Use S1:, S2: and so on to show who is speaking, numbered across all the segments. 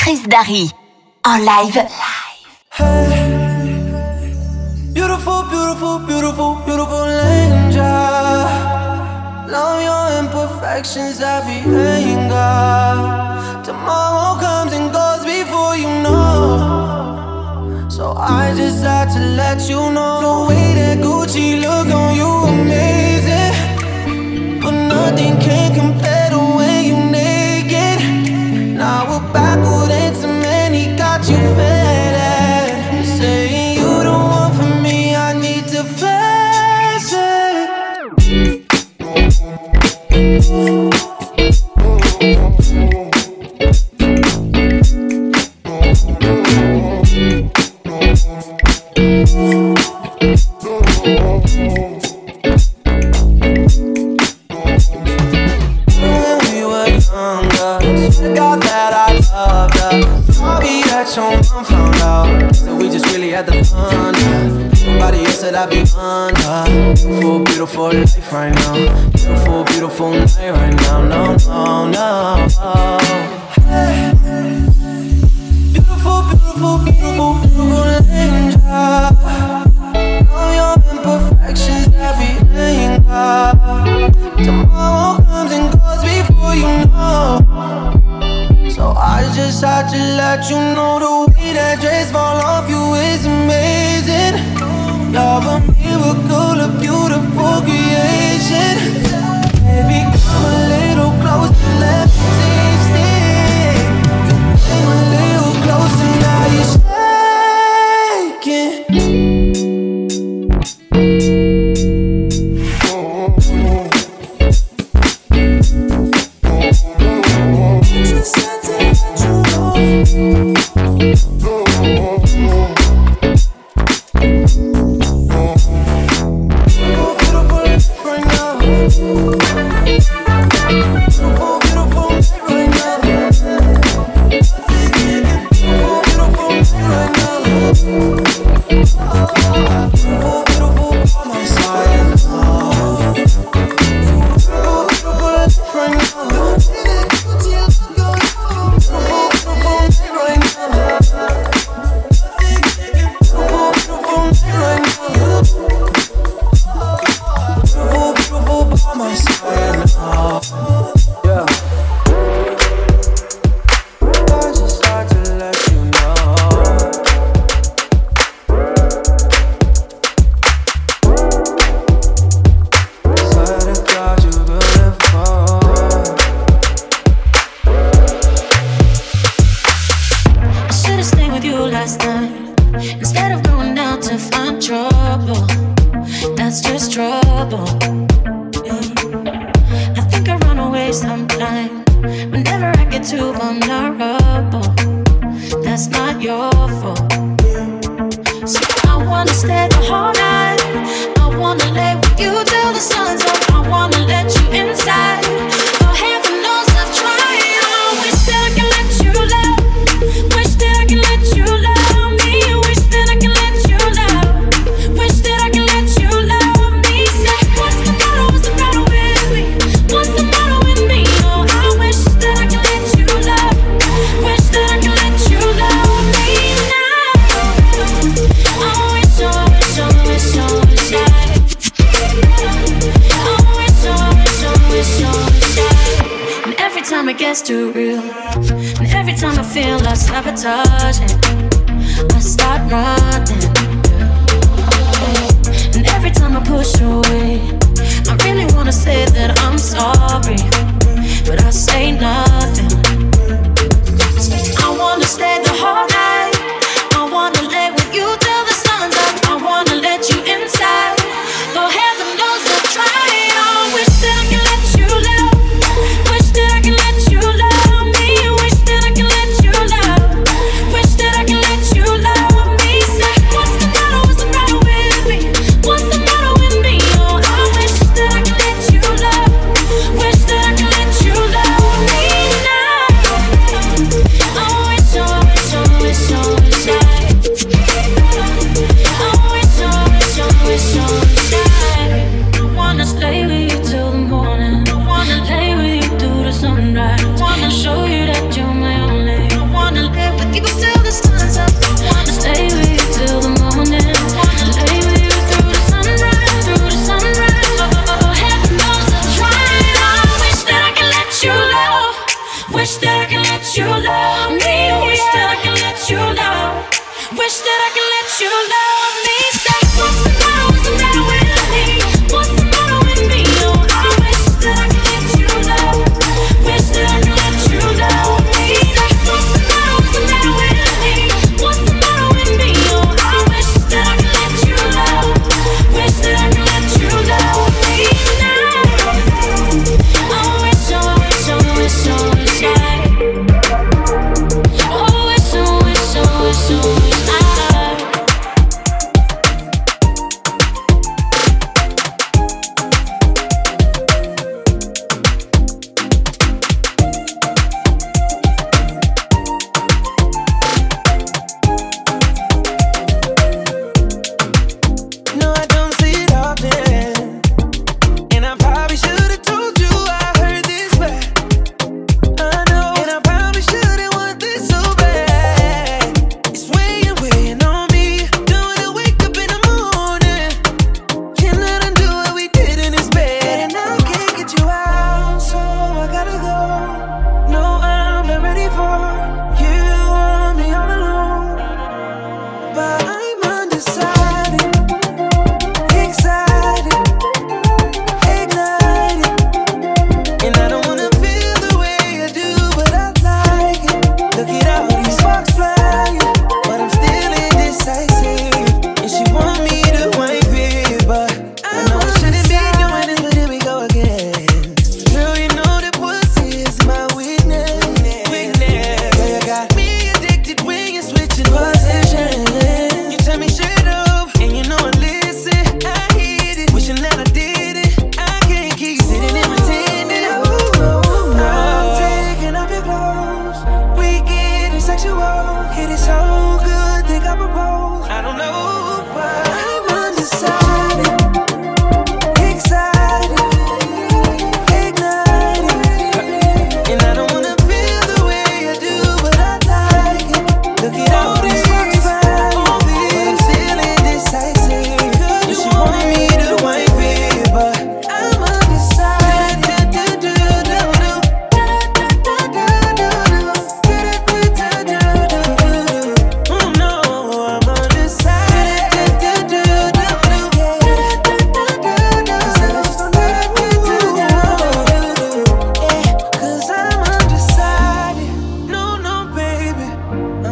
S1: Chris Darry en live.
S2: Hey, beautiful, beautiful, beautiful, beautiful angel. Love your imperfections, every anger. Tomorrow comes and goes before you know. So I just had to let you know the way that Gucci look on you amazing. But nothing can compare to when you naked. Now we're backward into many, got you faded. Saying you the one for me, I need to face it. Your mom found out that we just really had the fun. Nobody else that I be under. Beautiful, beautiful life right now. Beautiful, beautiful night right now. No, no, no. Hey. Beautiful, beautiful, beautiful, beautiful angel. Know your imperfections, every anger. Tomorrow comes and goes before you know. So I just had to let you know the way that dress fall off you is amazing. You're a miracle, a beautiful creation. Baby, come a little closer, let me taste it. Came a little closer, now you're shaking.
S3: Too real, and every time I feel like sabotaging, I start running, and every time I push away, I really wanna say that I'm sorry, but I say nothing. I wanna stay the whole night, I wanna lay with you till the sun's up, I wanna let you inside, though heaven knows I've tried. I wish that I could let you love, wish that I could let you love me, wish that I could let you love, wish that I could let you love me. Say, what's the matter with me? What's the matter with me? Oh, I wish that I could let you love, wish that I could let you love me now.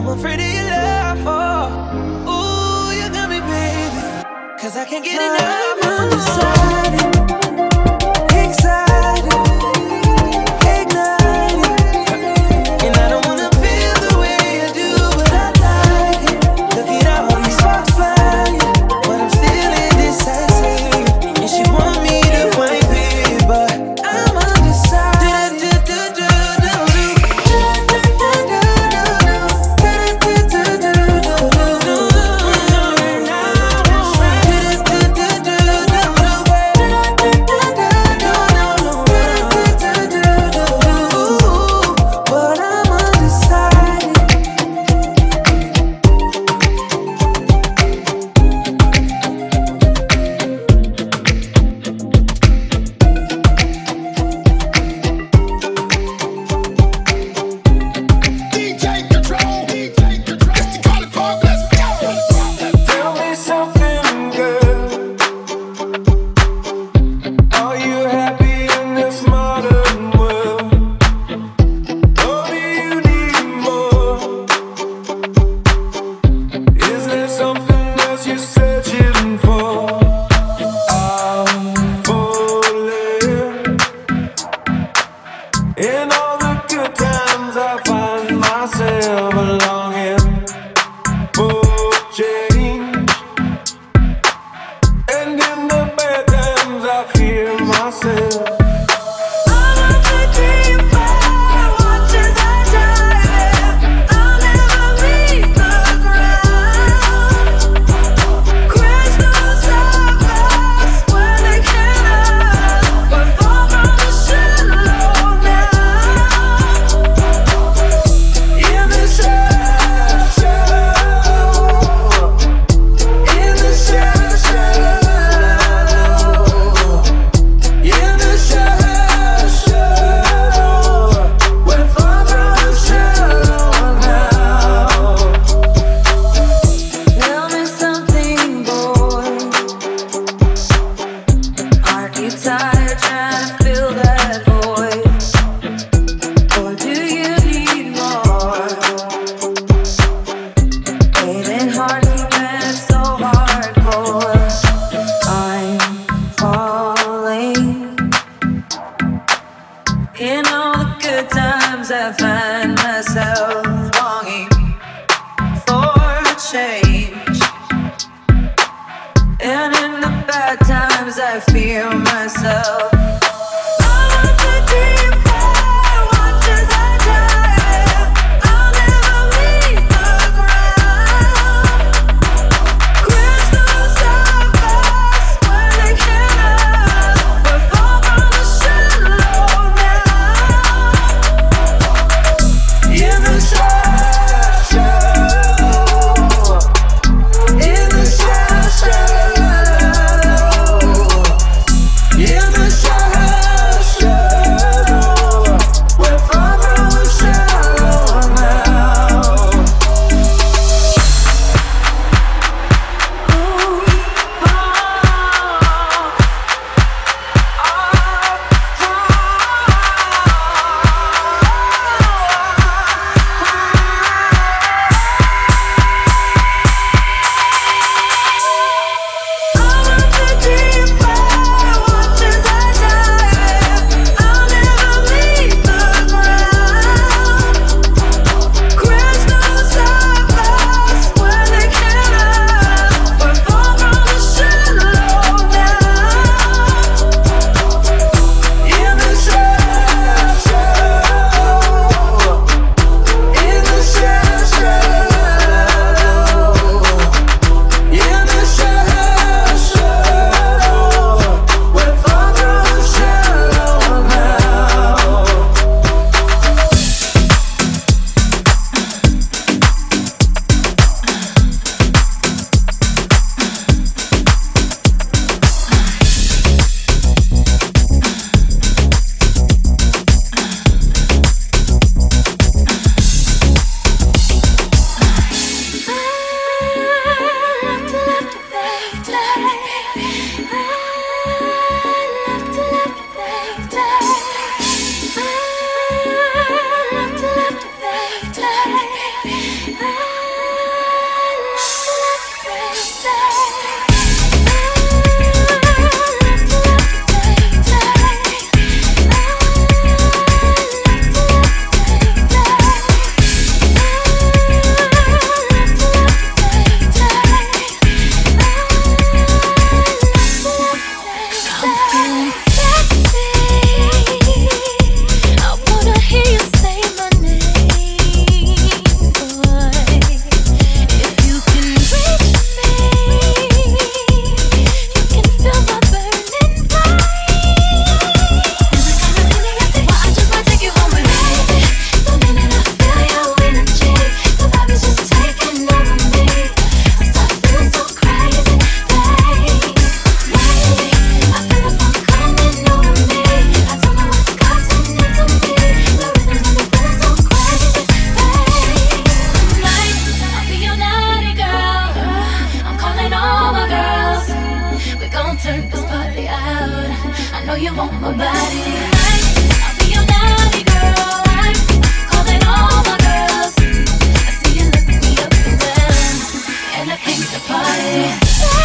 S2: I'm afraid of your love. Oh, ooh, you got me, baby. 'Cause I can't get enough. I'm undecided, excited, ignited. And I don't wanna feel the way you do, but I like it. Look at all these sparks flying, but I'm still indecisive. And she want me to wipe it, but I'm undecided. In all the good times I find myself longing for change, and in the bad times I fear myself. I find myself longing for change, and in the bad times I fear myself.
S3: Yeah. want my body. I'll be your naughty girl. I'm calling all my girls. I see you look me up and down, and I came to party.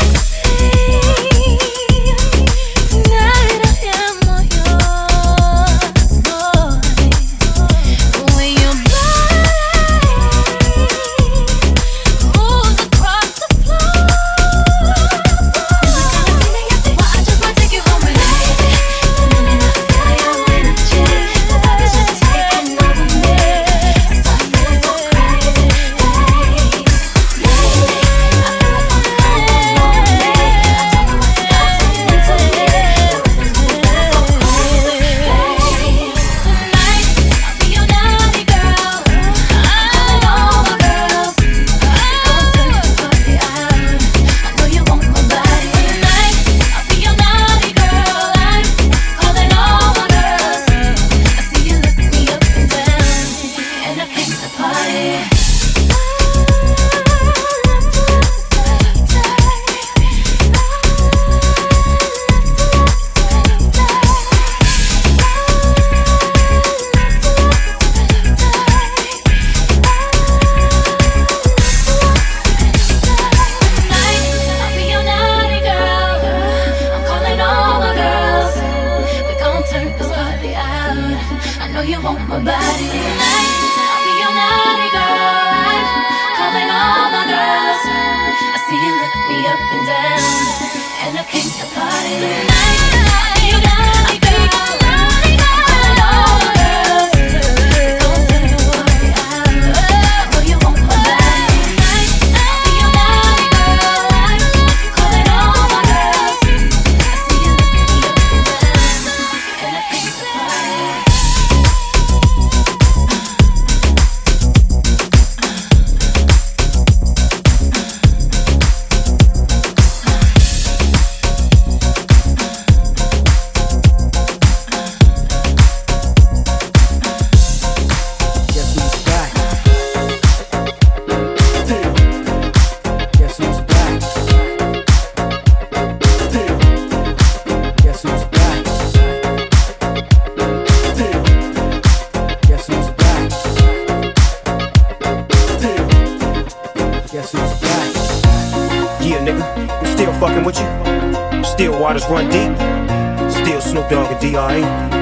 S4: Waters run deep. Still Snoop Dogg and D.R.E.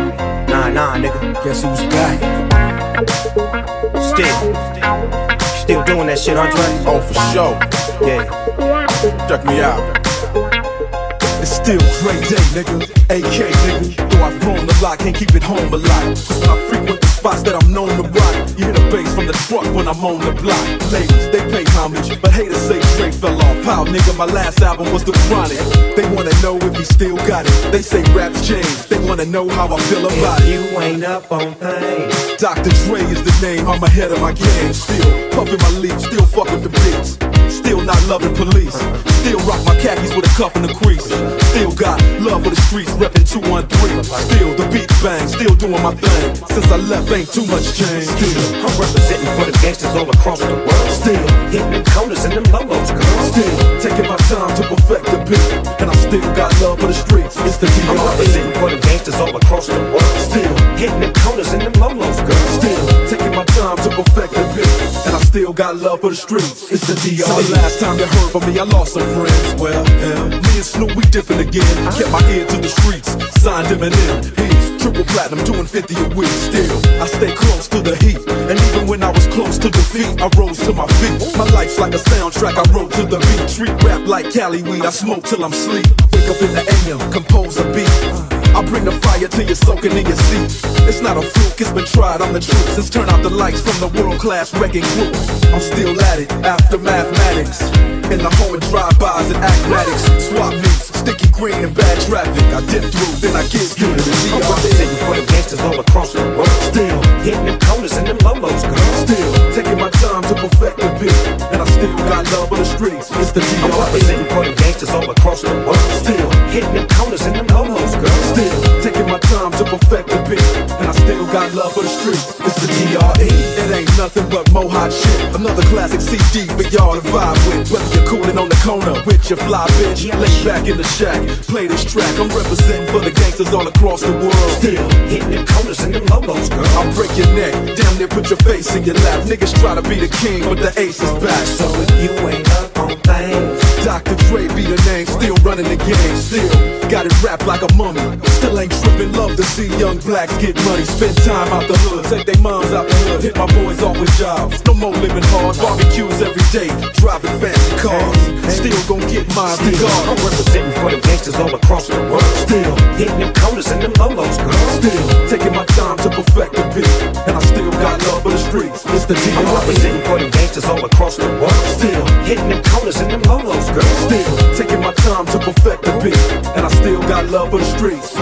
S4: Nah, nigga. Guess who's back? Still doing that shit, Andre?
S5: Oh, for sure.
S4: Yeah.
S5: Check me out. It's still Dre Day, nigga. AK, nigga. Though I've grown a lot, can't keep it home a lot. Cause when I frequent the spots that I'm known to rock, you hear the bass from the truck when I'm on the block. Ladies, they pay homage, but haters say Dre fell off. Pow, nigga, my last album was The Chronic. They wanna know if he still got it. They say rap's changed. They wanna know how I feel about it.
S4: You ain't up on things.
S5: Dr. Dre is the name, I'm ahead of my game. Still puffin' my leaf, still fuck with the beats. Still not loving police. Still rock my khakis with a cuff in the crease. Still got love for the streets, reppin' 213. Still the beat bang, still doing my thing. Since I left, ain't too much change.
S4: Still, I'm representing for the gangsters all across the world.
S5: Still
S4: hitting them corners and them lolos, girl.
S5: Still taking my time to perfect the beat, and I still got love for the streets. It's the D.R.E.
S4: I'm representing for the gangsters all across the world.
S5: Still
S4: hitting them corners and them lolos, girl.
S5: Still taking my time to perfect the beat, and I still got love for the streets. It's the D.R.E. So the last time you heard from me, I lost some friends. Well, me and Snoop, we different again. Kept my ear to the streets, signed Eminem. He's triple platinum, doing 50 a week. Still, I stay close to the heat, and even when I was close to defeat, I rose to my feet. My life's like a soundtrack, I wrote to the beat. Treat rap like Cali weed, I smoke till I'm sleep. Wake up in the AM, compose a beat. I bring the fire till you're soaking in your seat. It's not a fluke, it's been tried, I'm the truth. Since turn out the lights from the world-class wrecking crew, I'm still at it, after mathematics. In the home of drive-bys and acmatics. Swap meets, sticky green and bad traffic. I dip through, then I get to the D.R.E.
S4: I'm representing for the gangsters all across the world.
S5: Still
S4: hitting them corners and them lolos, girl.
S5: Still taking my time to perfect the beat, and I still got love for the streets. It's the D.R.E.
S4: I'm representing for the gangsters all across the world.
S5: Still
S4: hitting them corners and them lolos, girl.
S5: Still taking my time to perfect the beat, and I still got love for the streets. It's the D.R.E. It ain't nothing but mohawk shit. Another another classic CD for y'all to vibe with. Whether you're cooling on the corner with your fly bitch, lay back in the shack, play this track. I'm representing for the gangsters all across the world. Still hitting them corners and them lolos, girl. I'll break your neck, damn near put your face in your lap. Niggas try to be the king, but the ace is back.
S4: So if you ain't up on things,
S5: Dr. Dre be the name, still running the game. Still got it wrapped like a mummy. Still ain't tripping, love to see young blacks get money. Spend time out the hood, take their moms out the hood. Hit my boys off with jobs, no more living hard. Barbecues every day, driving fancy cars. Still gon' get mine regardless.
S4: I'm representing for the gangsters all across the world.
S5: Still
S4: hitting them corners and them lolos, girl.
S5: Still taking my time to perfect the beat, and I still got love for the streets. It's the
S4: I'm representing for the gangsters all across the world.
S5: Still
S4: hitting them corners and them lolos, girl.
S5: Still taking my time to perfect the beat, and I still got love for the streets.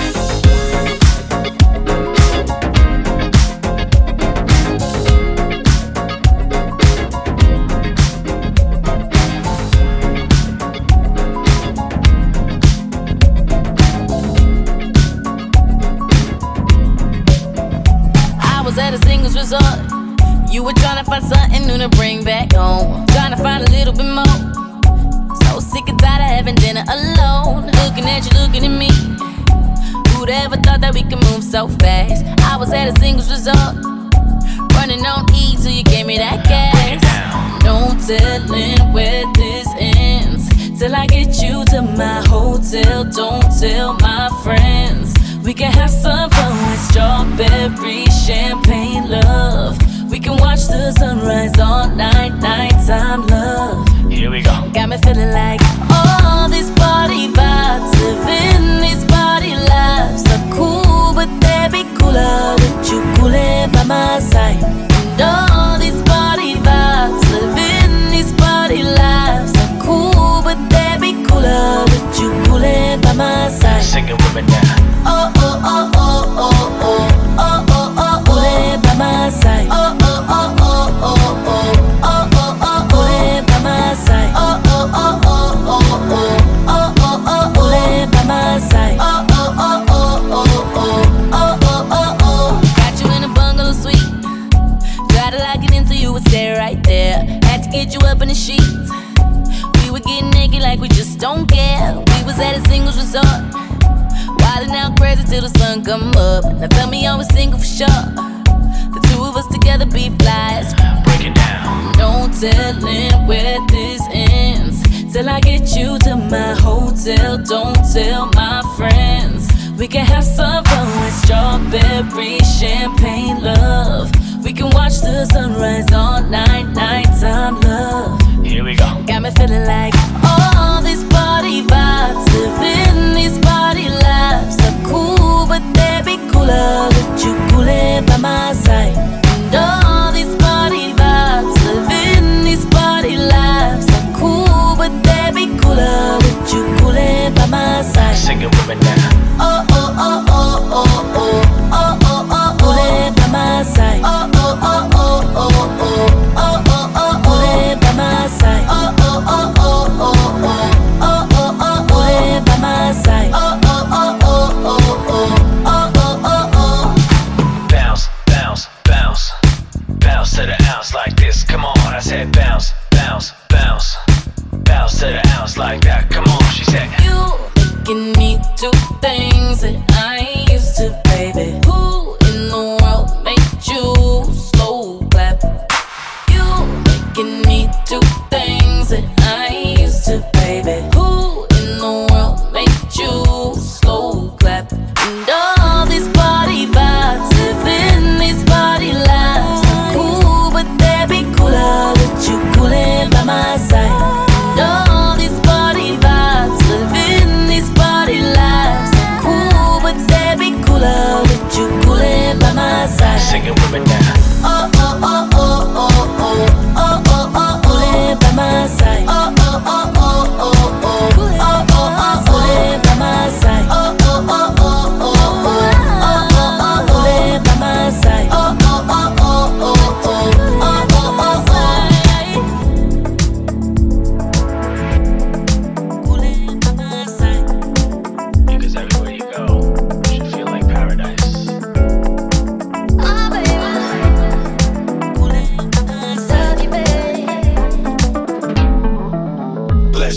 S3: You were trying to find something new to bring back home, trying to find a little bit more. So sick and tired of having dinner alone, looking at you, looking at me. Who'd ever thought that we could move so fast? I was at a singles resort, running on E till you gave me that gas. No telling where this ends till I get you to my hotel. Don't tell my friends. We can have some fun with strawberry champagne love. We can watch the sunrise all night, nighttime love.
S6: Here we go.
S3: Got me feeling like all these party vibes, living these party lives are cool, but they'd be cooler with you coolin' by my side. And all these party vibes, living these party lives are cool, but they'd be cooler with you coolin' by my side.
S6: Sing it with me now.
S3: Oh oh oh oh oh oh oh oh oh, coolin' by my side. Oh oh oh oh oh oh oh oh oh, coolin' by my side. Oh oh oh oh oh oh oh oh oh, coolin' by my side. Oh oh oh oh oh oh oh oh oh. Got you in a bungalow suite, try to lock it into you and stay right there. Had to get you up in the sheets. We were getting naked like we just don't care. We was at a singles resort, wildin' out crazy till the sun come up. Now tell me I was single for sure. The two of us together be flies.
S6: Break it down.
S3: No telling where this ends till I get you to my hotel. Don't tell my friends. We can have some fun with strawberry champagne love. We can watch the sunrise all night, nighttime love.
S6: Here we go.
S3: Got me feeling like all these party vibes, living these party lives are cool, but they'd be cooler with you coolin' by my side. And all these party vibes, living these party lives are cool, but they'd be cooler with you coolin' by my side.
S6: Sing it with me now.
S3: Oh oh oh oh oh oh oh oh oh, coolin' by my side. Oh oh oh oh oh oh oh oh oh, coolin' by my side. Oh oh oh oh oh oh oh oh oh, coolin' by my side. Oh oh oh oh oh oh oh oh oh.
S6: Bounce, bounce, bounce, bounce to the ounce like this. Come on, I said bounce, bounce, bounce, bounce to the ounce like that. Come on, she said.
S3: You making me do things that I ain't used to, baby. Who in the world made you slow clap? You making me do things that I ain't used to, baby. Who in the world made you slow clap? And all these party vibes, living these party lives are cool, but they'd be cooler with you coolin' by my side. And all these party vibes, living these party lives are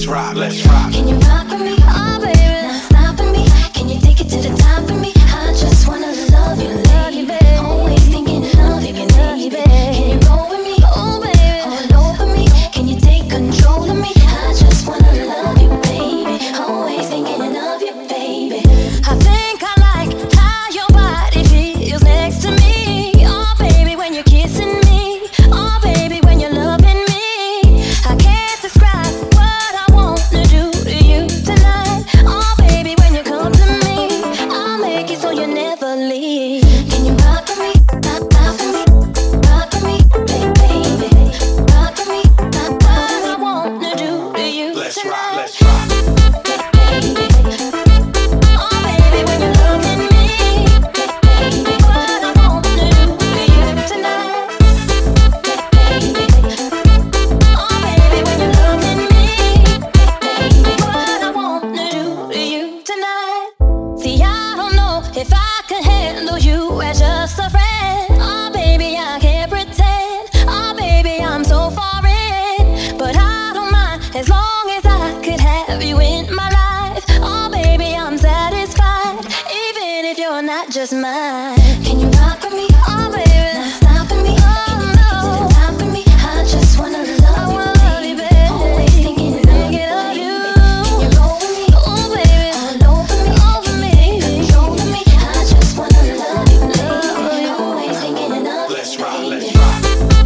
S4: let's rock, let's rock.
S3: Can you rock with me? Oh baby, not stopping me. Can you take it to the top of me? I just wanna love you, baby. Always thinking of you, baby. Can you roll with me? Oh baby, all over me. Can you take control of me? I just wanna love you, baby. Always thinking of you, baby. I think I like how your body feels next to me. Oh baby, when you're kissing me. Oh baby, when you're loving me. I can't describe what I wanna do to you tonight. Oh baby, when you come to me, I'll make it so you never leave. Can you rock with me? Rock with me, rock with me, baby. Rock with me, what I wanna do to you
S4: Let's
S3: tonight.
S4: rock, let's rock.
S3: As long as I could have you in my life, oh baby, I'm satisfied. Even if you're not just mine. Can you rock with me? Oh baby, not stopping me. Oh no, top of me. I just wanna love you, baby. Always thinking of you. Can you roll with me? Oh baby, all over me, control of me. I just wanna love you, baby. Always thinking of you.
S4: Let's rock, let's rock.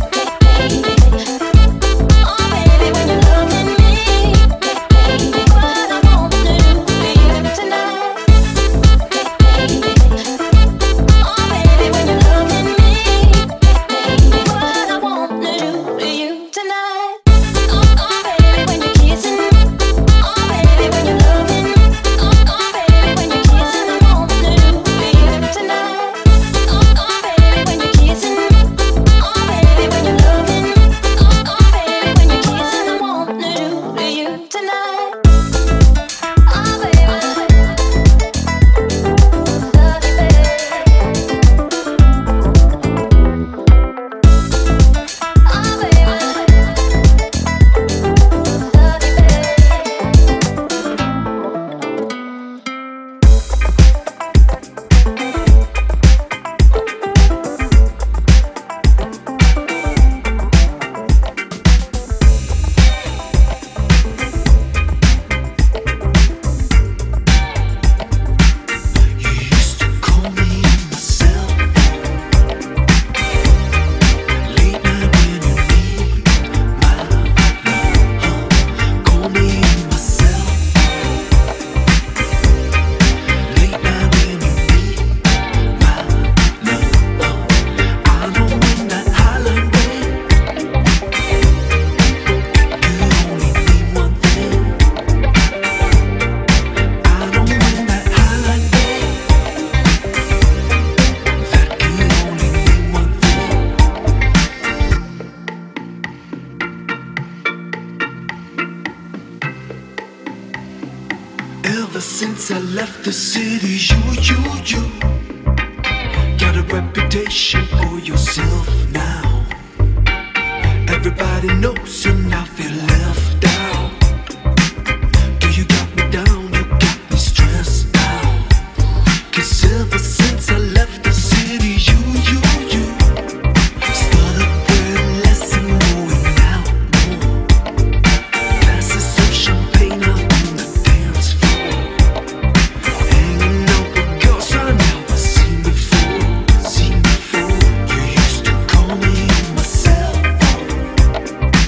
S2: Ever since I left the city, you got a reputation for yourself now. Everybody knows you now feel left out. Girl, you got me down, you got me stressed out. 'Cause ever since I left the city, you started wearing less and going out more. Glasses of champagne out on the dance floor, hanging out with girls I never seen before. You used to call me on my cell phone.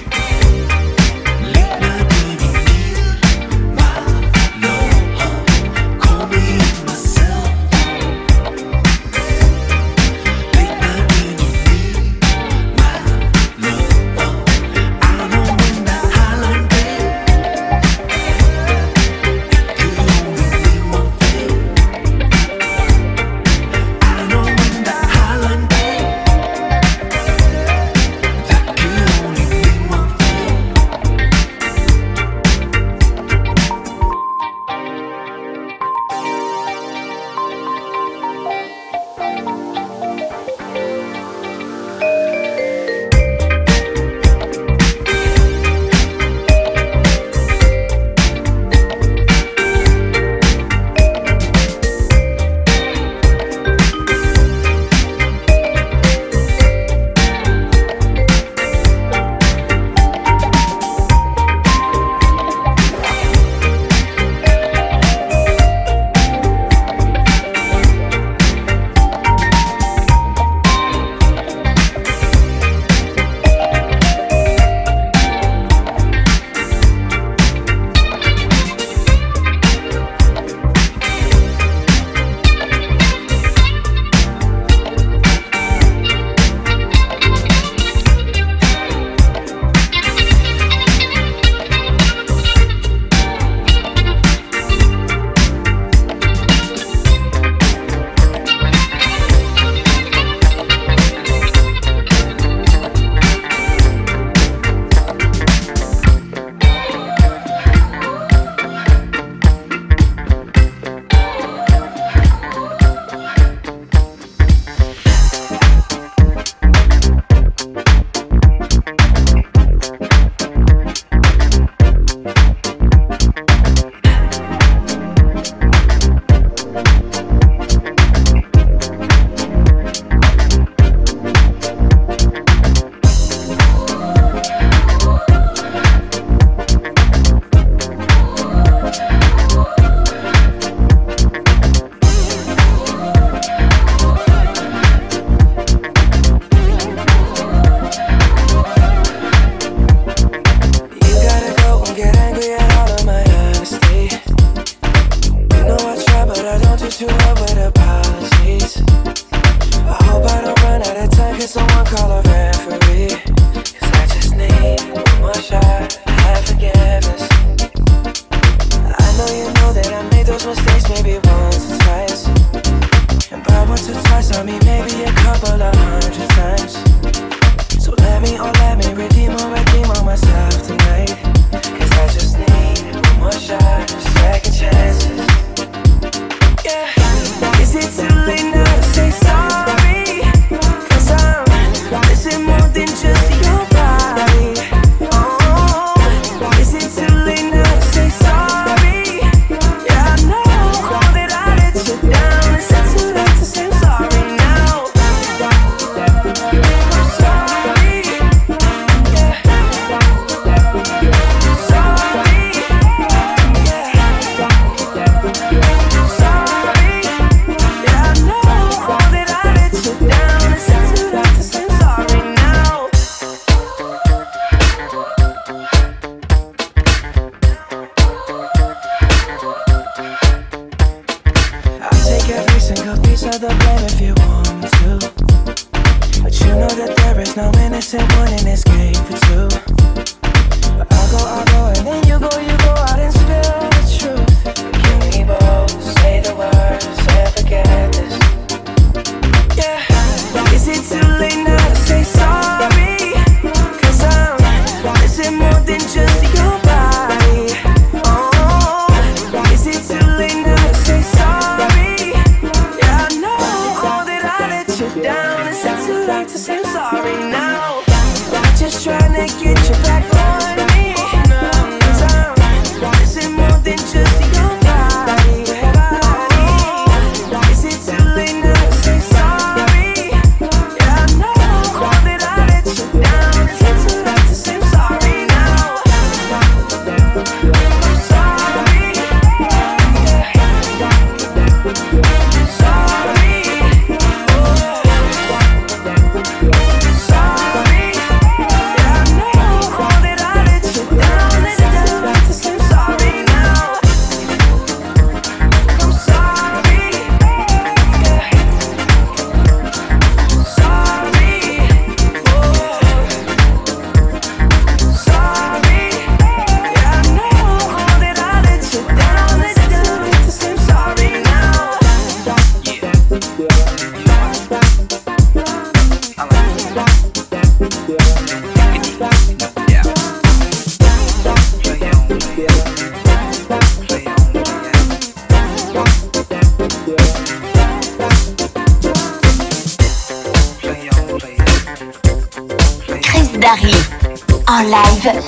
S1: en live.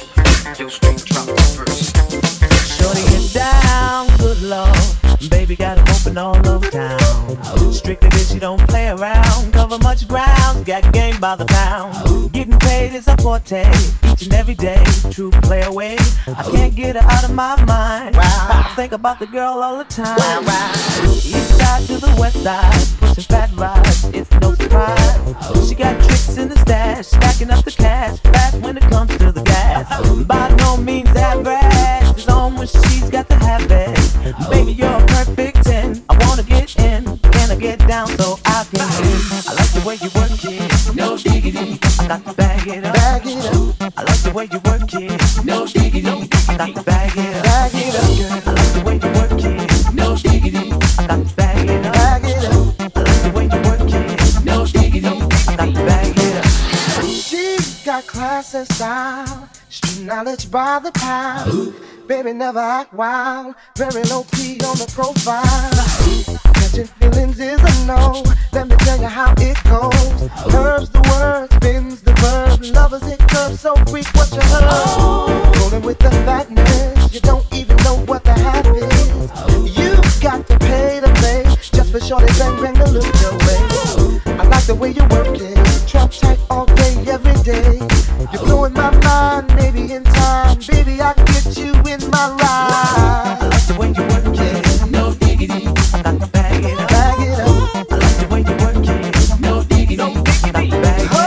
S7: Shorty get down, good lord. Baby got it open all over town. Strictly bitch, you don't play around. Cover much ground, got game by the pound. Getting paid is a forte, each and every day. True play away, I can't get her out of my mind. I think about the girl all the time. East side to the west side, pushing fat rides, it's no surprise. She got tricks in the stash, stacking up the cash, fast when it comes to the gas. By no means average, it's on when she's got the habit. Baby, you're a perfect 10. I wanna get in, can I get down so I can win? I like the way you work it, no diggity. I got to bag it up, bag it up. I like the way you work it, no diggity. I got to bag it up, bag it up. I like the way you work it, no diggity. I got to bag it up, bag it up. I like the way you work it, no diggity. I got to bag it up.
S8: She's got class and style, street knowledge by the pound. Baby never act wild, very low key on the profile. Catching feelings is a no, let me tell you how it goes. Curves the word, spins the verb, lovers hit curves so quick what you heard. Rolling with the fatness, you don't even know what the half is. You got to pay the play, just for shorty bang bang to look your way. I like the way you work it, trap tight all day, every day. You're blowing my mind, maybe in time, baby I can get you in my ride.
S7: I like the way you work it, no diggity. I got to bag it up, bag it up. I like the way you work it, no diggity. I got to bag it up,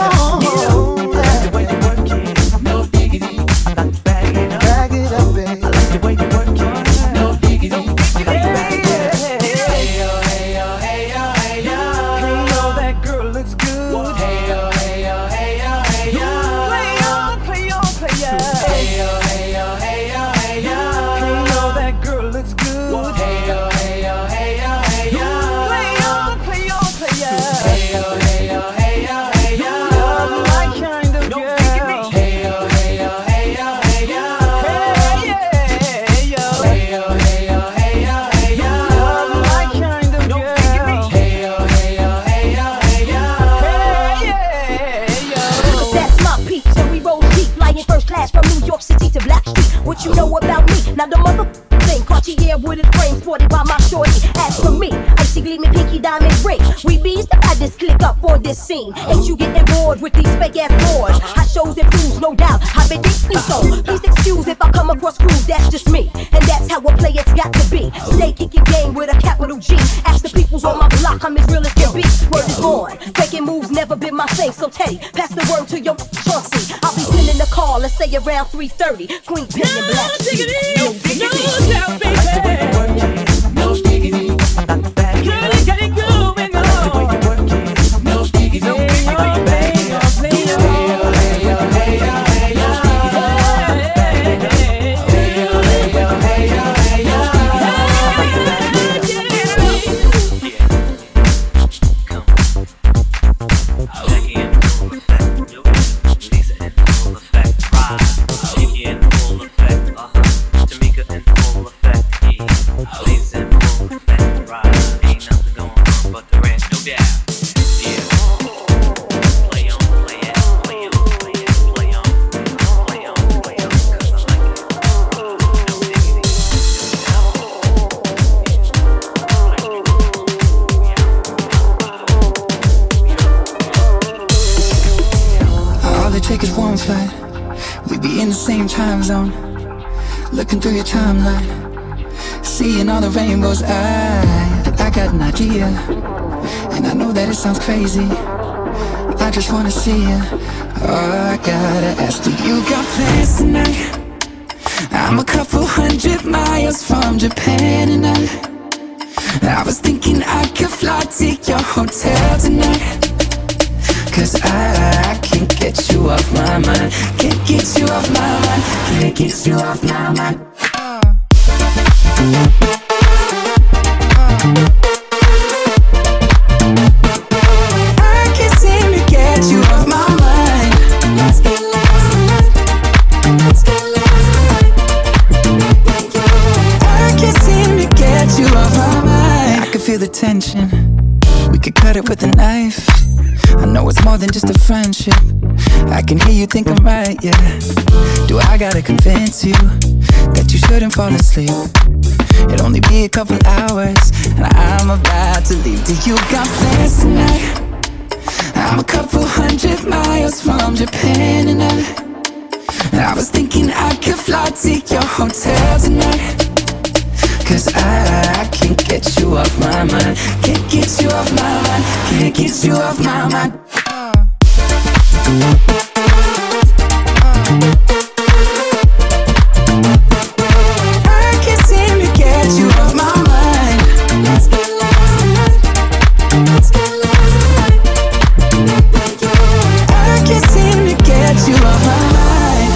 S7: I like the way you work it, no diggity. I got to bag it up, bag it up, baby. I like the way you work it, no diggity. I got to bag it up. Hey yo, hey yo, hey yo, hey yo. Hey yo, that girl looks good. Hey yo, hey yo, hey yo, hey yo. Play on, play on, play on. Hey yo, hey yo, hey yo, hey yo. Hey yo, that girl looks good. Hey yo, hey yo, hey yo, hey yo. Play on, play on, play on. Hey yo, hey yo, hey yo, hey yo. You're my kind of girl. Hey yo, hey yo, hey yo, hey yo. Hey yeah, hey yo. Hey yo, hey yo, hey yo, hey yo. You're my kind of girl. Hey yo, hey yo, hey yo, hey yo. Hey yeah, hey yo.
S9: That's my peak, so we roll deep, flying first class from New York City to Blackstreet. What you know about me? Now the mother thing, Cartier wooden frame sported by my shorty. As for me, icy gleaming pinky diamond ring. We bees the baddest click up on this scene. Ain't you getting bored with these fake ass boards? Hot shows and fools, no doubt. I've been digging so. Please excuse if I come across rude, that's just me. And that's how a player's got to be. Stay kicking game with a capital G. Ask the peoples on my block, I'm as real as can be. Word is born. Faking moves never been my thing. So Teddy, pass the word to your Chauncey. I'll be sending a call, let's say around 3:30. Queen Pen and Black Street. No diggity.
S7: No diggity. No diggity. I got the bag. Get it going on. I like the way you work it. No diggity. No diggity. I like the bag. Hey yo, hey yo, hey yo, hey yo. Hey yo, hey yo, hey yo, hey yo.
S6: Come. Jackie in full effect. Lisa in full effect. Ride. Jackie in full effect. Tamika in full effect. Yeah. Lisa in full effect. Ride. Ain't nothing going on but the rest, no doubt. Yeah. Play on, play it, play on, play it, play on, play on, play on, 'cause I like it. No diggity.
S2: All it takes is one flight. We be in the same time zone. Looking through your timeline, seeing all the rainbows. I got an idea, and I know that it sounds crazy. I just wanna see you. Oh, I gotta ask, do you got plans tonight? I'm a couple 100 miles from Japan, and I was thinking I could fly to your hotel tonight. 'Cause I can't get you off my mind. Can't get you off my mind. Can't get you off my mind. I can't seem to get you off my mind. Let's get lost tonight. Let's get lost tonight. I can't seem to get you off my mind. I can feel the tension. We could cut it with a knife. I know it's more than just a friendship.
S10: I can hear you think I'm right, yeah. Do I gotta convince you that you shouldn't fall asleep? It'll only be a couple hours and I'm about to leave. Do you got plans tonight? I'm a couple 100 miles from Japan and I was thinking I could fly to your hotel tonight. Cause I can't get you off my mind. Can't get you off my mind. Can't get you off my mind. I can't seem to get you off my mind. Let's get lost tonight. Let's get lost tonight. I can't seem to get you off my mind.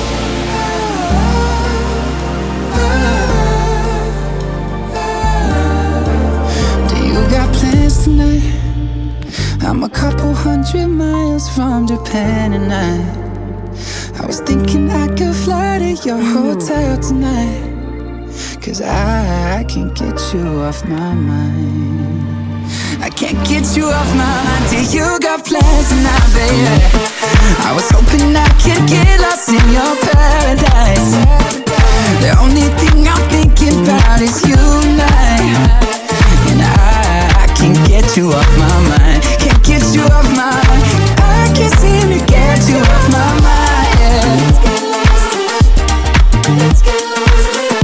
S10: Do you got plans tonight? I'm a couple 100 miles from Japan and I was thinking I could fly to your hotel tonight. Cause I can't get you off my mind. I can't get you off my mind. Do you got plans tonight, baby? I was hoping I could get lost in your paradise. The only thing I'm thinking about is you and and I can't get you off my mind. Can't get you off my mind. I can't seem to get you off my mind, yeah. Let's get lost tonight. Let's get lost tonight.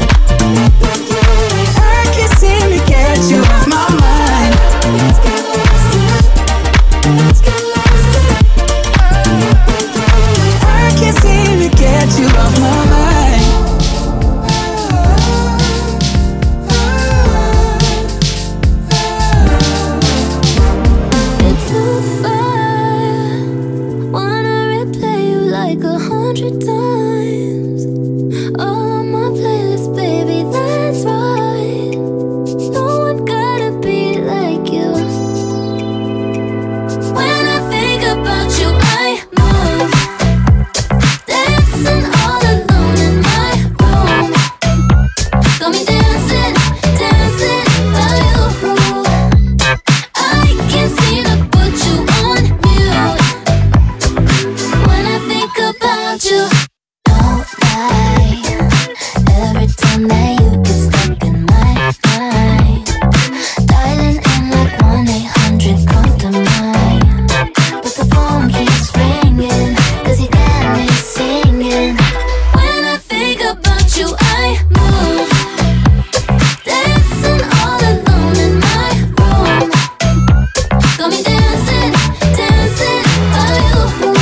S10: I can't seem to get you off my mind. Let's get lost tonight. Let's get lost tonight. I can't seem to get you off my mind.
S3: It's too far. Wanna replay you like 100 times. All on my playlist, baby, that's right. No one gotta be like you. When I think about you, I move, dancing all alone in my room. Got me dancing, dancing by you. I can't seem to put you on mute. When I think about you, don't lie. Every time that you get stuck in my mind, dialing in like 1-800 come to mind. But the phone keeps ringing, cause you got me singing. When I think about you, I move, dancing all alone in my room. Got me dancing, dancing by you.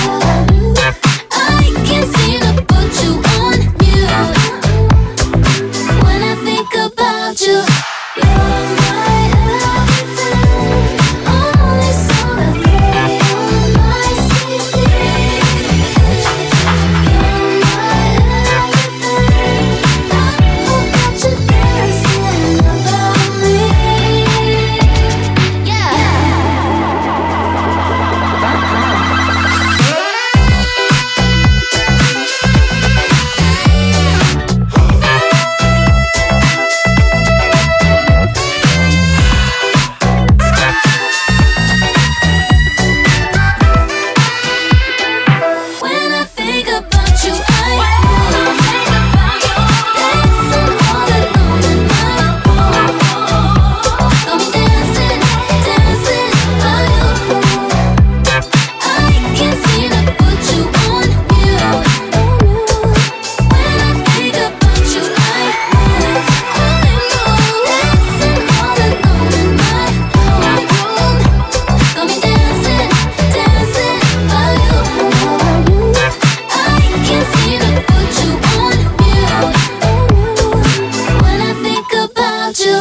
S3: I can't seem to put you on mute. When I think about you, you're my everything. Only song I play on my CD. You're my everything. I hope that you're dancing about me. When I think about you, I move, dancing all alone in my room. Got me dancing, dancing by you. I can't seem to put you on mute. When I think about you, I move, dancing all alone in my room. Got me dancing, dancing by you. I can't seem to put you on mute. When I think about you,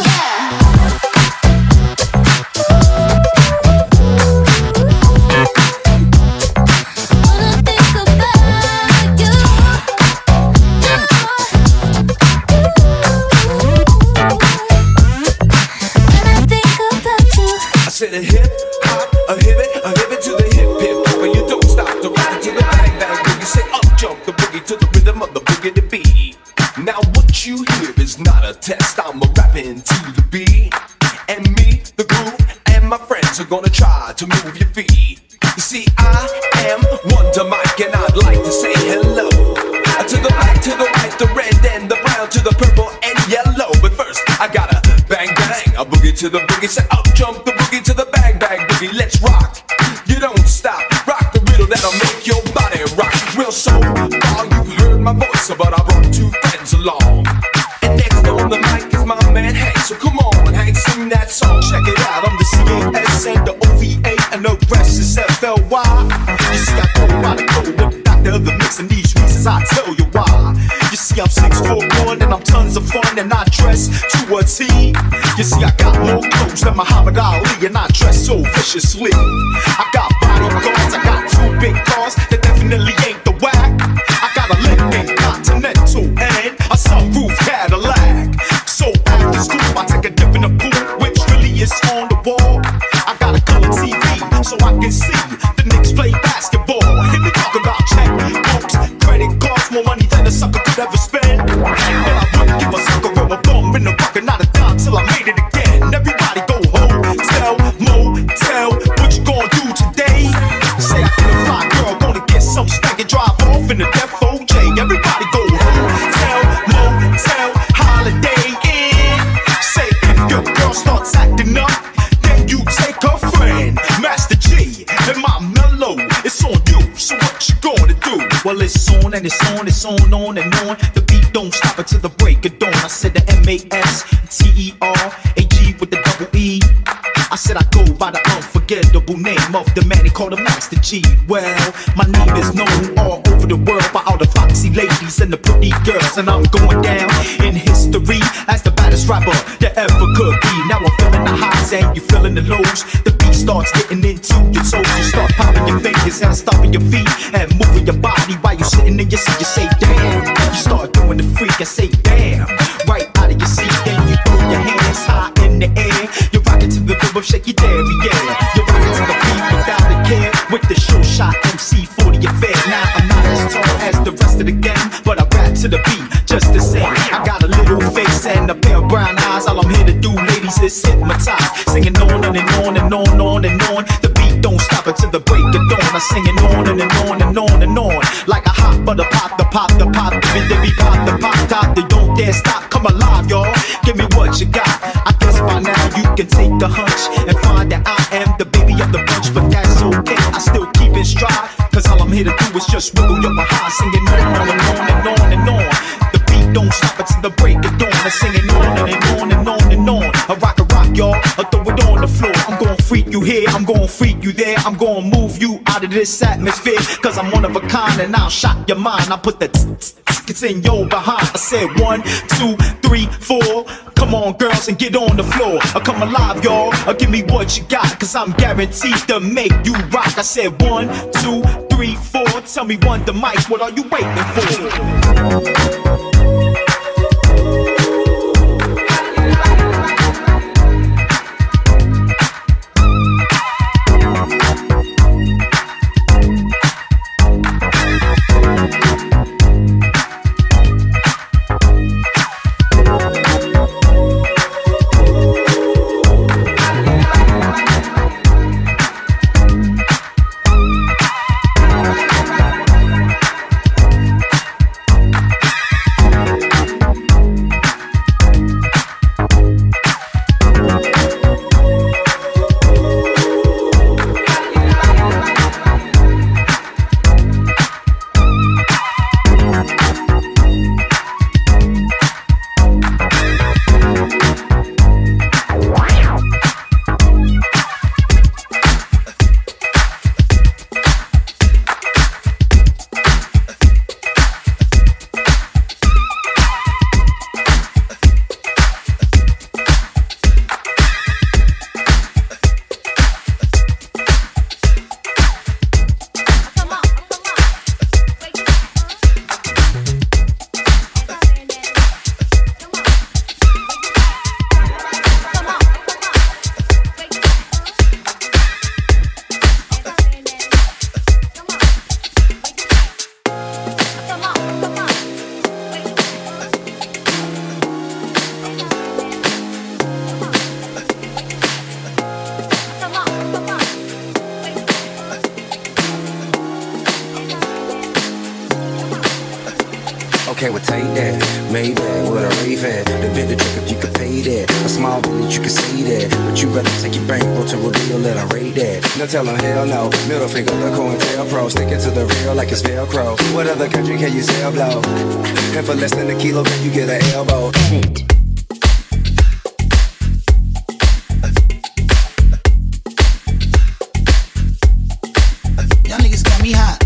S3: when I think about you, when I think about you.
S5: I said a hip hop, a hibbit to the hip hip. When you don't stop the ride to the bang bang boogie. Say up jump the boogie to the rhythm of the boogie to beat. Now what you hear is not a test. I'm a rapping to the beat, and me, the groove, and my friends are gonna try to move your feet. You see, I am to the boogie. Say up jump the boogie to the bang bang boogie. Let's rock. You don't stop. Rock the riddle that'll make your body rock. Well, so far you've heard my voice, but I brought two friends along. And next on the mic is my man Hank. So come on, Hank, sing that song. Check it out. I'm the CAS and the OVA and the rest is FLY. You see, I go by the code of Dr. The Mix, and these reasons I tell you why. You see, I'm 6'1" and I'm tons of fun, and I dress to a T. You see, I got more clothes than Muhammad Ali, and I dress so viciously. I got bodyguards, I got two big cars that definitely ain't the whack. I got a Lincoln Continental and a sunroof Cadillac. So after school, I take a dip in the pool, which really is on the wall. I got a color TV so I can see the Knicks play basketball. Hit me talk about checkbooks, credit cards, more money than a sucker could ever spend. But I wouldn't give a sucker a bum in the bucket, not a dime till I made it again. Everybody go home, tell, motel, what you gonna do today? Say I get a fly girl, gonna get some stank and drive off in the Def OJ. Everybody go home, tell, motel, holiday in. Say if your girl starts acting up, then you take her friend, Master G, and my mellow. It's on you, so what you gonna do? Well, it's on and it's on, it's on and on. The beat don't stop until the break of dawn. I said the MASTERAG with the double E. I said I go by the unforgettable name of the man they call the Master G. Well, my name is known all over the world by all the foxy ladies and the pretty girls, and I'm going down in history as the baddest rapper that ever could be. Now I'm feeling the highs and you feeling the lows. The beat starts getting into your toes. You start popping your fingers and stomping your feet and moving your body while you're sitting in your seat. You say damn. You start doing the freak and say damn. Right out of your seat, then you throw your hands high in the air. You're rocking to the rhythm, shake your derriere. You're rocking to the beat without a care. With the show shot MC 40 affair. Now I'm not as tall as the rest of the gang, but I rap to the beat just the same. I got a little face and a pair of brown eyes. All I'm here to do, ladies, is hypnotize. Singing on and on and on and on. The beat don't stop until the break of dawn. I'm singing on and on and on and on. Like a hot butter pop, the pop, the pop, the be pop, the pop top. They don't dare stop, come alive, y'all. Give me what you got. I guess by now you can take a hunch and find that I am the baby of the bunch, but that's okay. I still keep it stride, cause all I'm here to do is just wiggle your behind, singing on and on and on and on. The beat don't stop until the break of dawn. I'm singing on and on and on and on. I rock, y'all. I throw it on the floor. I'm gon' freak you here, I'm gon' freak you there. I'm gon' move you out of this atmosphere, cause I'm one of a kind and I'll shock your mind. I put the it's in your behind. I said 1, 2, 3, 4. Come on, girls, and get on the floor. Come alive, y'all. Give me what you got, cause I'm guaranteed to make you rock. I said 1, 2, 3, 4. Tell me one the mic, what are you waiting for?
S11: okay, well take that. Maybach with a Ray-Ban. The bit the trick if you could pay that. A small bit that you can see that. But you better take your bankroll to reveal that I rate that. Now tell them hell no. Middle finger, the COINTELPRO. Sticking to the real like it's Velcro. What other country can you sell blow? And for less than a kilo, can you get an elbow?
S1: Edit.
S12: Y'all niggas got me hot.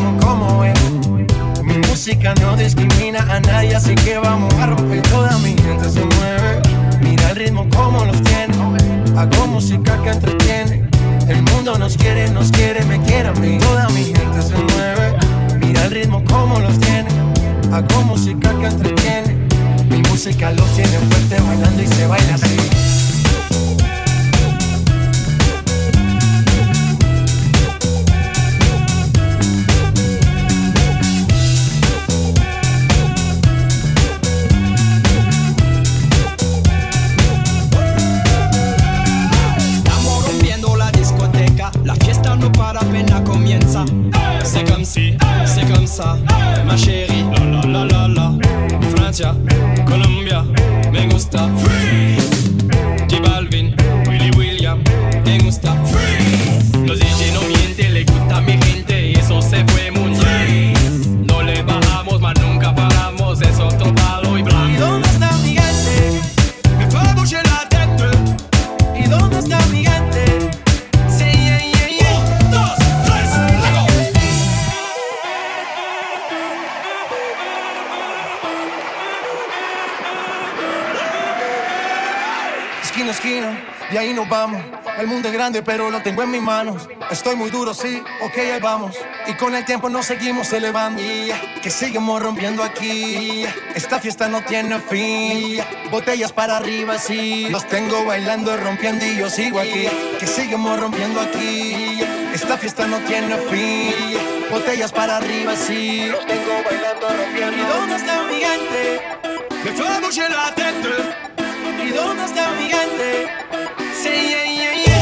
S13: ritmo como es. Mi música no discrimina a nadie, así que vamos a romper. Toda mi gente se mueve. Mira el ritmo como los tiene. Hago música que entretiene. El mundo nos quiere, me quiere a mí. Toda mi gente se mueve. Mira el ritmo como los tiene. Hago música que entretiene. Mi música los tiene fuerte bailando y se baila así.
S14: No para, apenas comienza. C'est comme si, c'est comme ça, ma chérie. La la la la la. Francia, Colombia, me gusta. Freeze. J Balvin, Willy William, me gusta. Freeze. Los DJ no mienten, le gusta a mi gente y eso se fue muy bien. No le bajamos, mas nunca paramos, es otro palo y blanco.
S13: ¿Y dónde está mi gente? Me fue a bouger la tête. ¿Y dónde está mi gente? Esquina a esquina, y ahí nos vamos. El mundo es grande, pero lo tengo en mis manos. Estoy muy duro, sí, ok, ahí vamos. Y con el tiempo nos seguimos elevando. Que seguimos rompiendo aquí. Esta fiesta no tiene fin. Botellas para arriba, sí. Los tengo bailando, rompiendo y yo sigo aquí. Que seguimos rompiendo aquí. Esta fiesta no tiene fin. Botellas para arriba, sí. Los tengo bailando, rompiendo. ¿Y dónde está mi gente? Me fue a bouger la tête. ¿Y dónde está mi gente? Sí, yeah, yeah, yeah.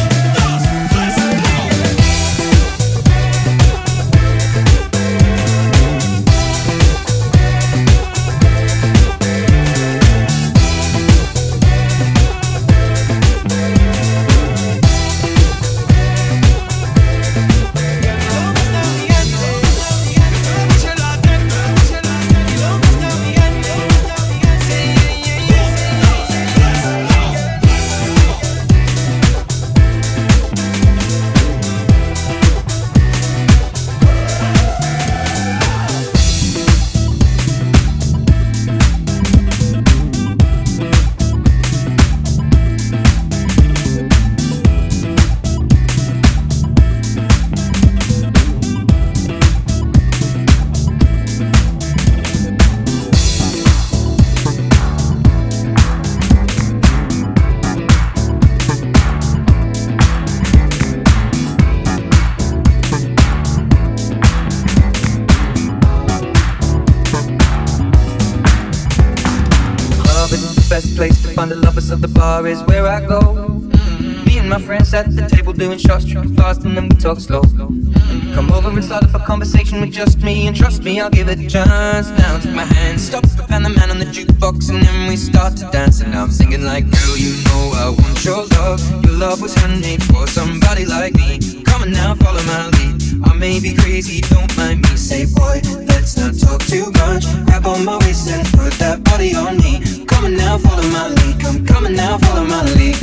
S15: The bar is where I go. Me and my friends at the table doing shots, tripping fast and then we talk slow. Come over and start up a conversation with just me, and trust me, I'll give it a chance. Now take my hand, stop, and the man on the jukebox, and then we start to dance. And now I'm singing like, girl, you know I want your love. Your love was handmade for somebody like me. Come on now, follow my lead. I may be crazy, don't mind me. Say, boy, let's not talk too much. Grab on my waist and put that body on me. Come on now, follow my lead. Come coming now, follow my lead.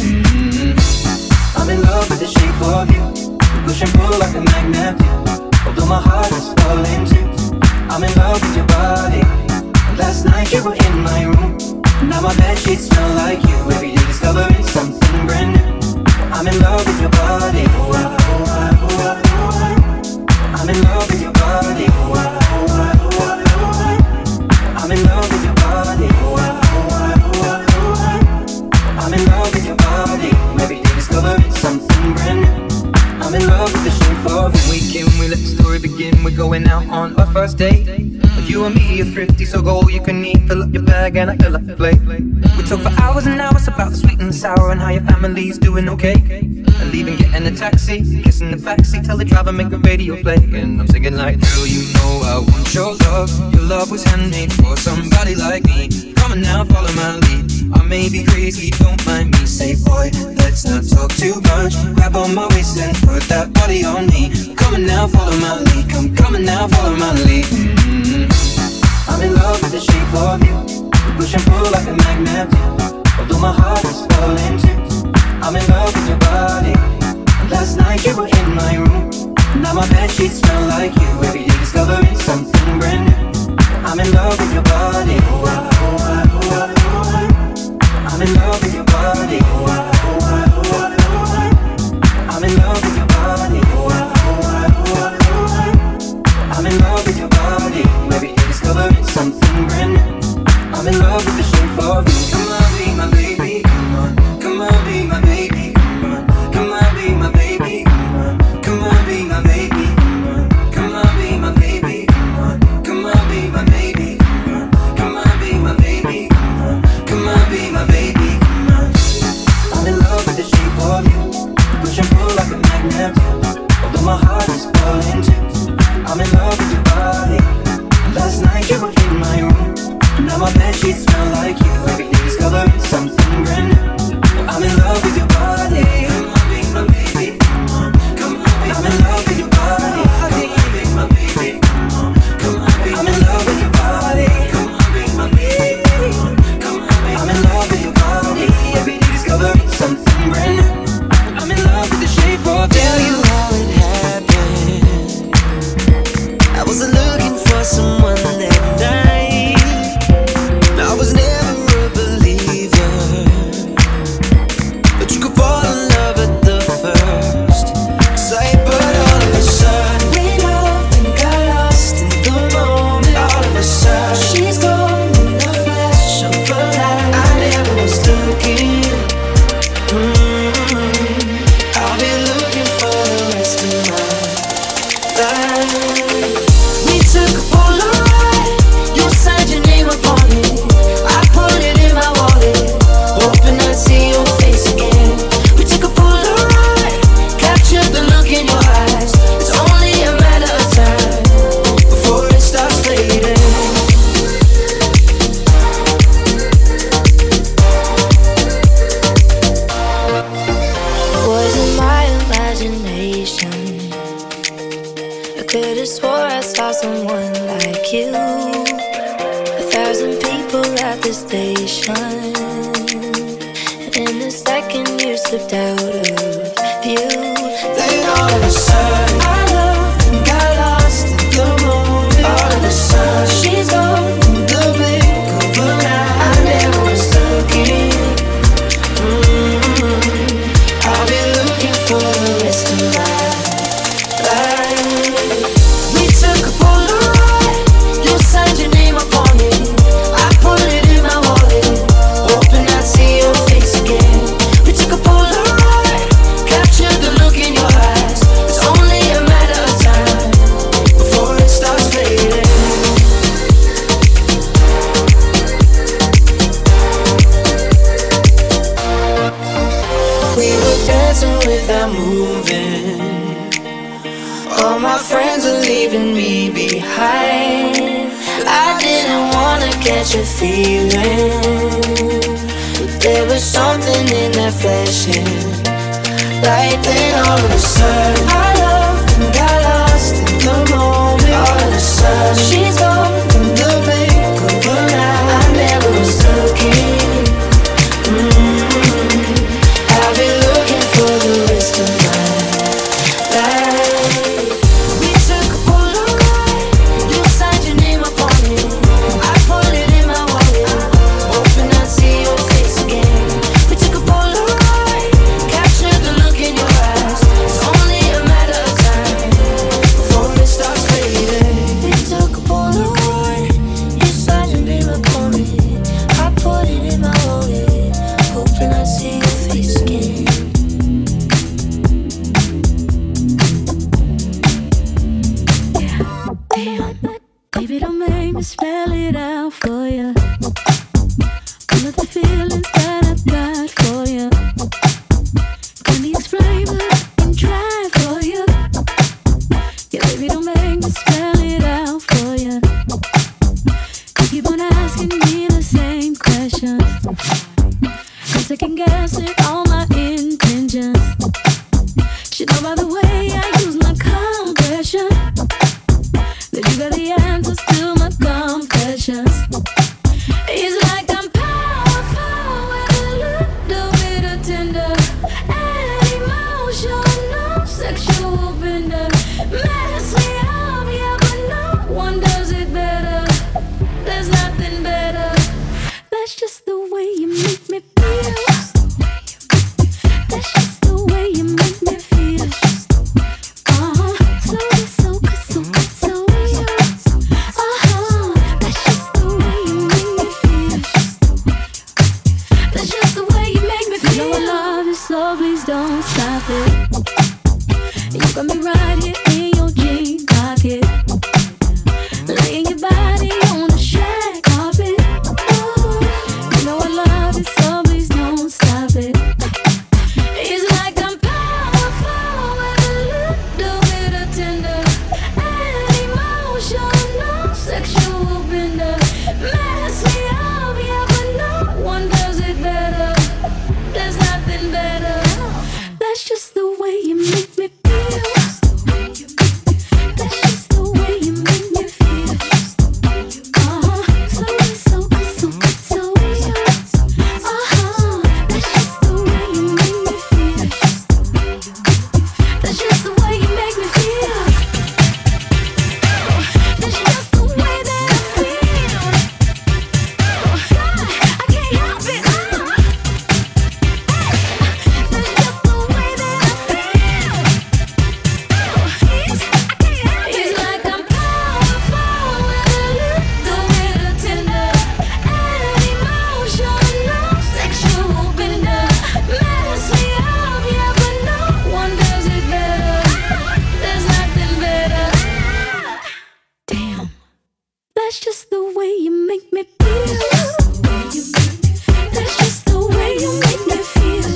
S15: I'm in love with the shape of you. We push and pull like a magnet. Although my heart is falling too. I'm in love with your body. Last night you were in my room. Now my bedsheets smell like you. Every day discovering something brand new. I'm in love with your body. I'm in love with your body. I'm in love with your body. I'm in love with your body. Every day discovering something brand new. I'm in love with the shape of it. Weekend, we let the story begin. We're going out on our first date. You and me are thrifty, so go all you can eat. Fill up your bag and I fill up the plate. We talk for hours and hours about the sweet and the sour and how your family's doing okay. And leaving, getting a taxi, kissing the backseat, tell the driver make the radio play. And I'm singing like, girl, you know I want your love. Your love was handmade for somebody like me. Come on now, follow my lead. I may be crazy, don't mind me. Say, boy, let's not talk too much. Grab on my waist and put that body on me. Come on now, follow my lead. Come coming now, follow my lead. I'm in love with the shape of you. We push and pull like a magnet. Although my heart is falling too. I'm in love with your body. Last night you were in my room. Now my bedsheets smell like you. Every day discovering something brand new. I'm in love with your body. I'm in love with your body. I'm in love with your body. I'm in love with your body. Every day discovering something brand new. I'm in love with the shape of you. Come on, be my baby. Come on, come on, be my baby. Come on, come on, be my baby. Come on, come on, be my baby. Come on, come on, be my baby. Come on, come on, be my baby. Come on, come on, be my baby. Come on, come on, be my baby. Come on. I'm in love with the shape of you. Push and pull like a magnet. Although my heart is falling too. I'm in love with your body. Last night you were in my room. Now my bedsheets smell like you. Every day discovering something brand new. I'm in love with your body. Come on, be my baby. Come on, come on, be I'm in love with your body. Come on, be my baby. Come on, come on, be I'm in love with your body. Come on, be my baby. Come on, come on, be I'm in love with your body. Every day discovering something brand new. I'm in love with the shape of you.
S2: Tell you how it happened. I wasn't looking for someone that night. I was never a believer, but you could fall in love at the first sight. But all of a sudden we loved and got lost in the moment. All of a sudden she's gone in the flash of a light. I never was looking. I'll be looking for the rest of my life. We took a Polaroid. You signed your name upon it. I put it in my wallet, hoping I'd see your face again. We took a Polaroid, captured the look in your eyes. It's only a matter of time before it starts fading. Was it my imagination? I could've swore I saw someone like you. 1,000 people at the station, and in a second you slipped out of view. Then all of a sudden I loved and got lost in the moment. All of a sudden she's gone in the blink of an eye. I never was looking. I'll be looking for the rest of my life. We took a Polaroid. You signed your name upon it. I put it in my wallet, hoping I'd see your face again. We took a Polaroid, captured the look in your eyes. It's only a matter of time before it starts fading. We were dancing without moving. All my friends are leaving me behind. I didn't wanna catch a feeling, but there was something in that flashing light. Then all of a sudden I loved and got lost in the moment. All of a sudden she's gone in the blink of an eye. I never was looking. I'll be looking for the rest of my life. We took a Polaroid. You signed your name upon it. I put it in my wallet, hoping I'd see your face again. We took a Polaroid, captured the look in your eyes. It's only a matter of time before it starts fading. We took a Polaroid. You signed your name upon it. I put it in my wallet, hoping I'd see your face again.
S3: Damn, baby, don't make me spell it out for you. All of the feelings that I've got for you. Can you explain what I can try for you? Yeah, baby, don't make me spell it out for you. You keep on asking me the same questions. I'm second guessing all my intentions. Should know by the way I use my compression that you got the answers to my confessions. It's like I'm powerful with a little bit of tender and emotional, sexual bender. Damn, that's just the way you make me feel. That's just the way you make me feel.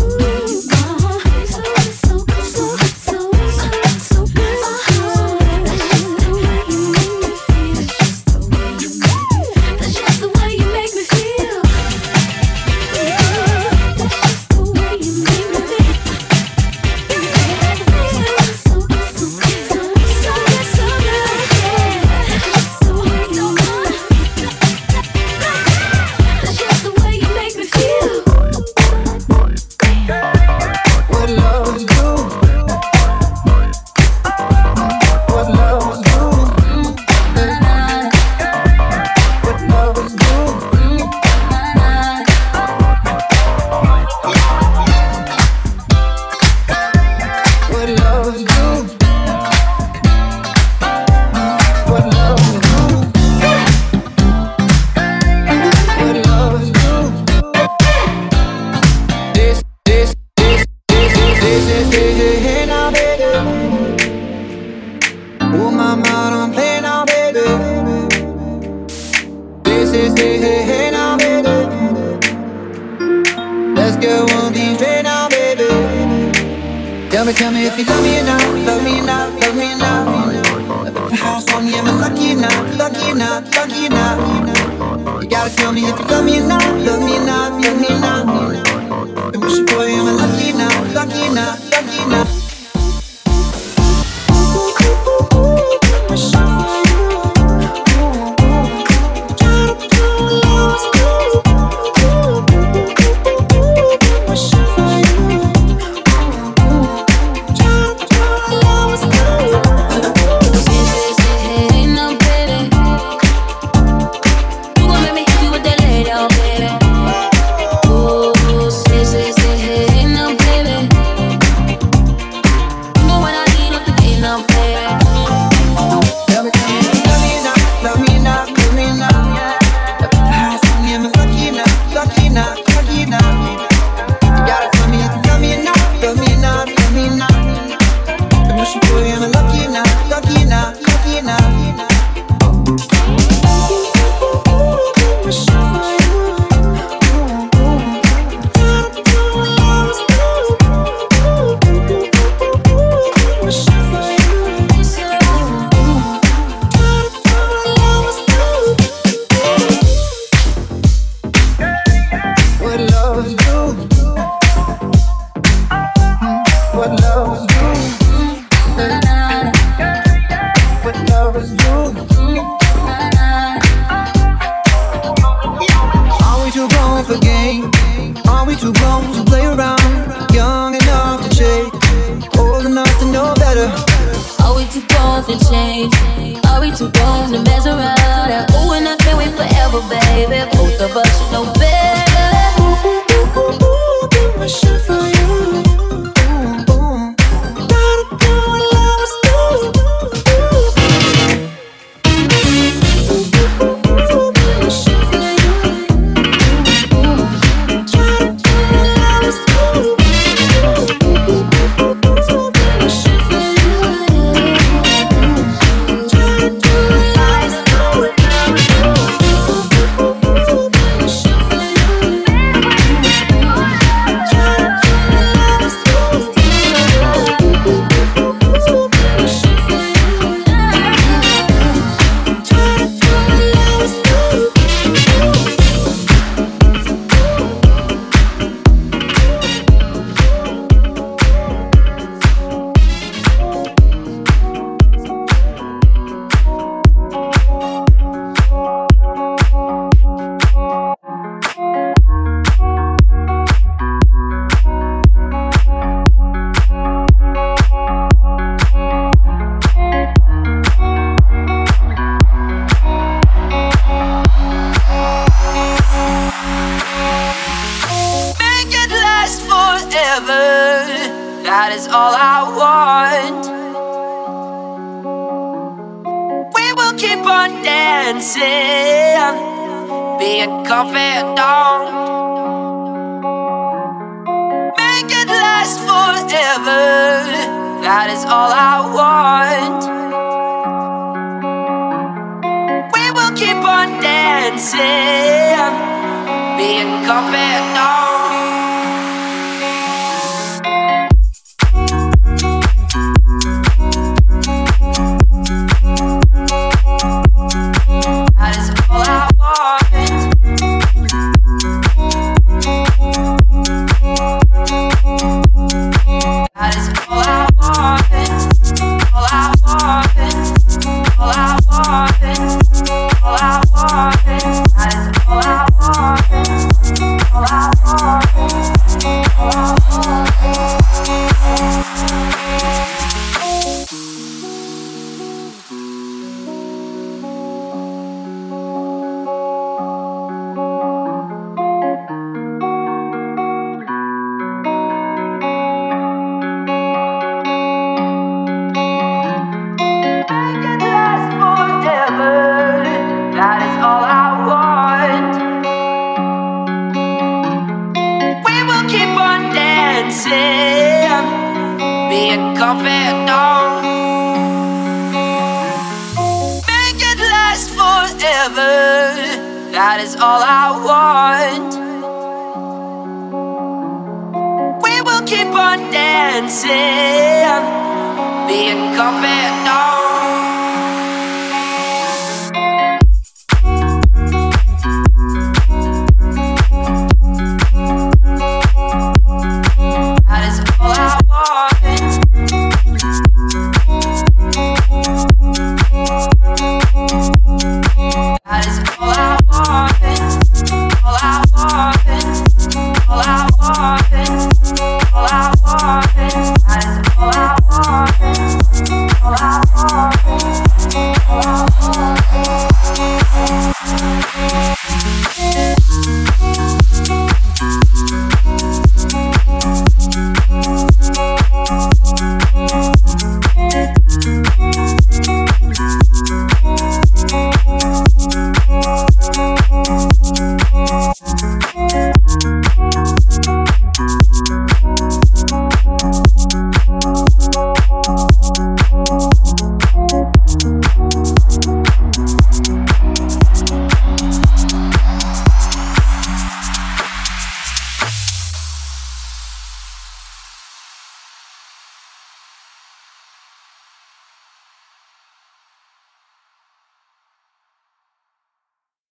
S15: Tell me if you love me enough, love me enough, love me enough. The house on you, am I lucky enough, lucky enough, lucky enough? You gotta tell me if you love me enough, love me enough, love me enough. I'm wishing for you, am I lucky enough, lucky enough, lucky enough?
S16: that is all I want. We will keep on dancing, being confidant. Make it last forever, that is all I want. on dancing, being confident. That is all I want. That is all I want. All I want. All I want. All I want. That is all I want. All I want. All I being confident. Make it last forever. That is all I want. We will keep on dancing, being confident.